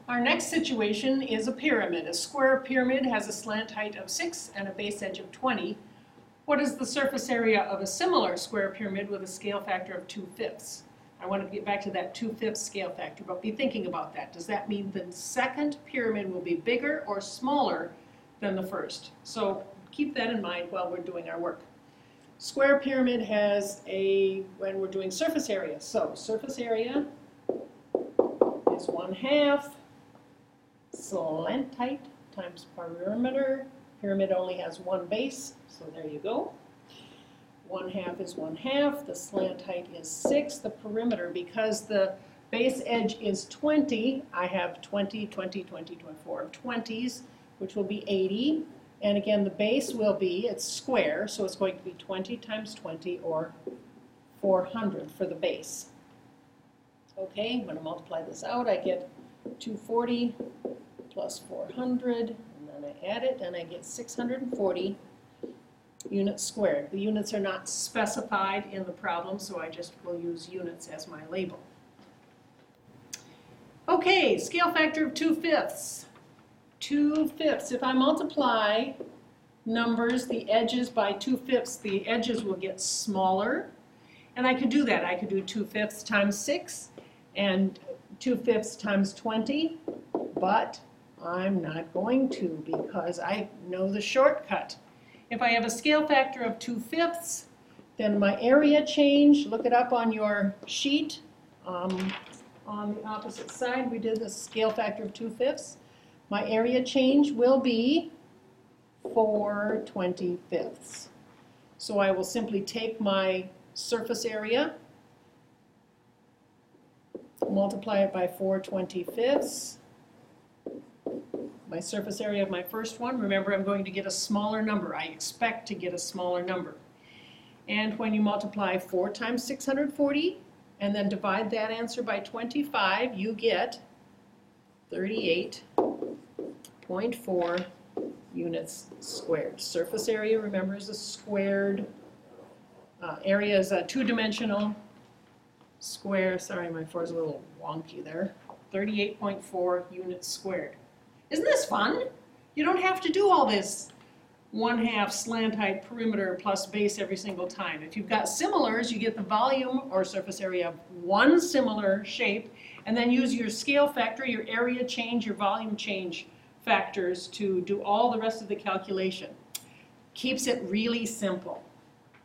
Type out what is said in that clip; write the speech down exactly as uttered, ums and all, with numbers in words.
Our next situation is a pyramid. A square pyramid has a slant height of six and a base edge of twenty. What is the surface area of a similar square pyramid with a scale factor of two fifths? I want to get back to that two fifths scale factor, but be thinking about that. Does that mean the second pyramid will be bigger or smaller than the first? So keep that in mind while we're doing our work. Square pyramid has a, when we're doing surface area, so surface area is one half slant height times perimeter. Pyramid only has one base, so there you go. One half is one half, the slant height is six, the perimeter, because the base edge is twenty, I have twenty, twenty, twenty, twenty-four, twenties, which will be eighty. And again, the base will be, it's square, so it's going to be twenty times twenty, or four hundred for the base. Okay, I'm going to multiply this out. I get two hundred forty plus four hundred, and then I add it, and I get six hundred forty units squared. The units are not specified in the problem, so I just will use units as my label. Okay, scale factor of two fifths. two fifths. If I multiply numbers, the edges, by two fifths, the edges will get smaller. And I could do that. I could do two fifths times six and two fifths times twenty, but I'm not going to because I know the shortcut. If I have a scale factor of two fifths, then my area change, look it up on your sheet. Um, on the opposite side, we did the scale factor of two fifths. My area change will be four twenty-fifths. So I will simply take my surface area, multiply it by four twenty-fifths. My surface area of my first one, remember I'm going to get a smaller number. I expect to get a smaller number. And when you multiply four times six hundred forty and then divide that answer by twenty-five, you get thirty-eight point four units squared. Surface area, remember, is a squared. Uh, area is a two-dimensional square. Sorry, my four is a little wonky there. thirty-eight point four units squared. Isn't this fun? You don't have to do all this one half slant height perimeter plus base every single time. If you've got similars, you get the volume or surface area of one similar shape, and then use your scale factor, your area change, your volume change factors to do all the rest of the calculation. Keeps it really simple.